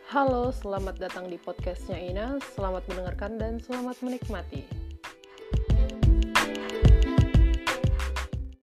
Halo, selamat datang di podcastnya Ina. Selamat mendengarkan dan selamat menikmati.